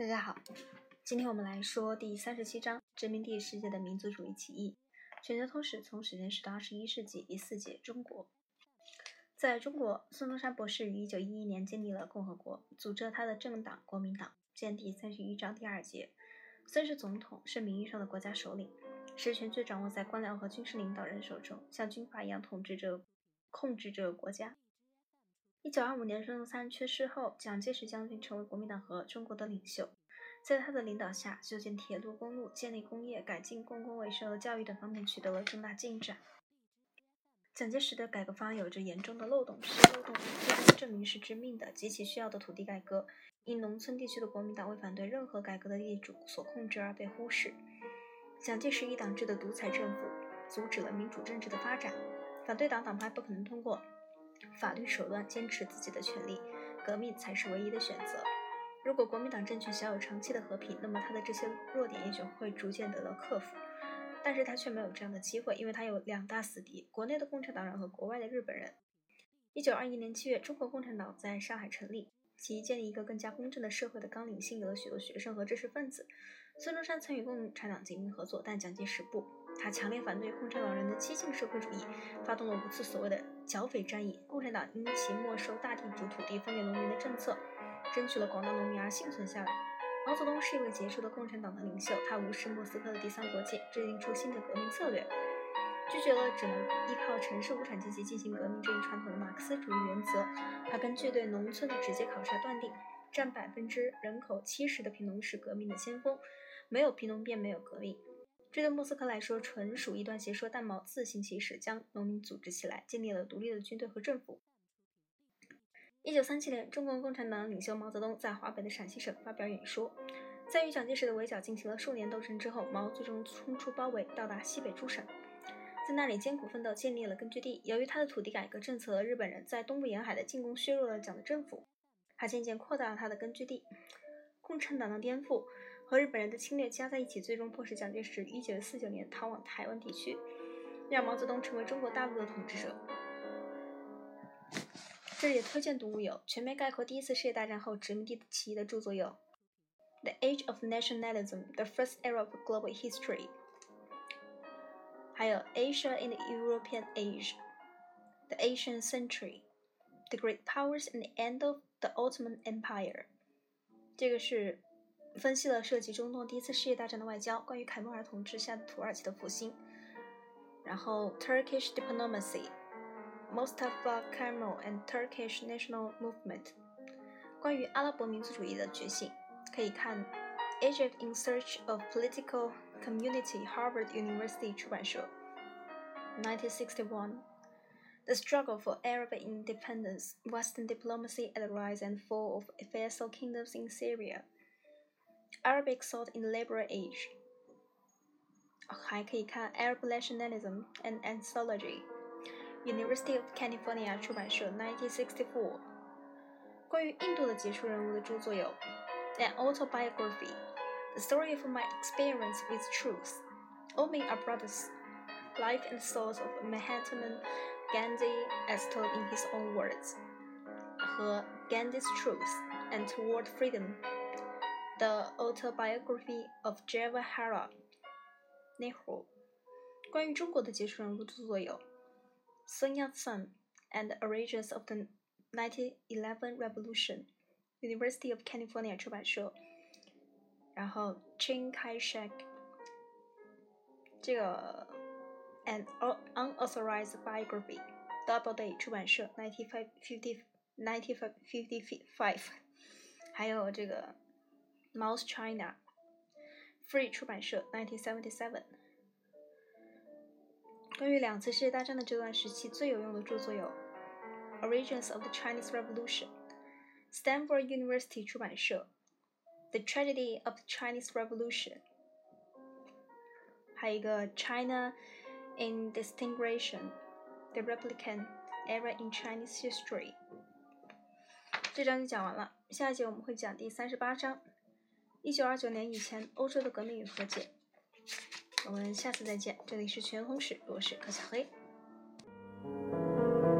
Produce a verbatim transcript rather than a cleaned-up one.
大家好，今天我们来说第三十七章殖民地世界的民族主义起义。全球通史从时间史到二十一世纪第四节中国。在中国，孙中山博士于一九一一年建立了共和国，组织了他的政党国民党。见第三十一章第二节。孙是总统，是名义上的国家首领，实权却掌握在官僚和军事领导人手中，像军阀一样统治着控制着国家。一九二五年，孙中山去世后，蒋介石将军成为国民党和中国的领袖。在他的领导下，修建铁路、公路、建立工业、改进公共卫生和教育等方面取得了重大进展。蒋介石的改革方案有着严重的漏洞，这些漏洞最终证明是致命的，极其需要的土地改革，因农村地区的国民党为反对任何改革的地主所控制而被忽视。蒋介石一党制的独裁政府阻止了民主政治的发展，反对党党派不可能通过法律手段坚持自己的权利，革命才是唯一的选择。如果国民党政权想有长期的和平，那么他的这些弱点也许会逐渐得到克服，但是他却没有这样的机会，因为他有两大死敌，国内的共产党人和国外的日本人。一九二一年七月，中国共产党在上海成立，其建立一个更加公正的社会的纲领吸引了许多学生和知识分子。孙中山曾与共产党紧密合作，但蒋介石不，他强烈反对共产党人的激进社会主义，发动了五次所谓的剿匪战役。共产党因其没收大地主土地分给农民的政策，争取了广大农民而幸存下来。毛泽东是一位杰出的共产党的领袖，他无视莫斯科的第三国界，制定出新的革命策略，拒绝了只能依靠城市无产阶级进行革命这一传统的马克思主义原则。他根据对农村的直接考察断定，占百分之人口七十的贫农是革命的先锋，没有贫农便没有革命。这对莫斯科来说纯属一段邪说，但毛自行其事，将农民组织起来，建立了独立的军队和政府。一九三七年，中国共产党领袖毛泽东在华北的陕西省发表演说，在与蒋介石的围剿进行了数年斗争之后，毛最终冲出包围，到达西北诸省，在那里艰苦奋斗，建立了根据地。由于他的土地改革政策，日本人在东部沿海的进攻削弱了蒋的政府，他渐渐扩大了他的根据地。共产党的颠覆和日本人的侵略加在一起，最终迫使蒋介石于一九四九年逃往台湾地区，让毛泽东成为中国大陆的统治者。这里的推荐读物有全面概括第一次世界大战后殖民地起义的著作有 The Age of Nationalism, The First Era of Global History， 还有 Asia in the European Age, The Asian Century, The Great Powers and the End of the Ottoman Empire。 这个是分析了涉及中东第一次世界大战的外交，关于凯末尔统治下的土耳其的复兴，然后 Turkish Diplomacy，Mustafa Kemal and Turkish National Movement， 关于阿拉伯民族主义的觉醒，可以看 Egypt in Search of Political Community， Harvard University 出版社 nineteen sixty-one。 The Struggle for Arab Independence, Western Diplomacy at the Rise and Fall of Vassal Kingdoms in Syria， Arabic Thought in the Liberal Age， 还可以看 Arab Nationalism and Anthology，University of California 出版社 nineteen sixty-four。 关于印度的杰出人物的著作有 An Autobiography, The Story of My Experience with Truth, All Men Are Brothers, Life and Thoughts of Mahatma Gandhi as Told in His Own Words 和 Gandhi's Truth and Toward Freedom, The Autobiography of Jawaharlal Nehru。 关于中国的杰出人物著作有Sun Yat-sen and the Origins of the nineteen eleven Revolution， University of California 出版社。然后 Chiang Kai-shek， 这个 An Unauthorized Biography， Doubleday 出版社 nineteen fifty-five。 还有这个 Mao's China， Free 出版社 nineteen seventy-seven。关于两次世界大战的这段时期最有用的著作有 Origins of the Chinese Revolution， Stanford University 出版社 The Tragedy of the Chinese Revolution， 还有一个 China in Disintegration, The Republican Era in Chinese History。 这章就讲完了，下一节我们会讲第三十八章一九二九年以前欧洲的革命与和解。我们下次再见，这里是全通史，我是柯小黑。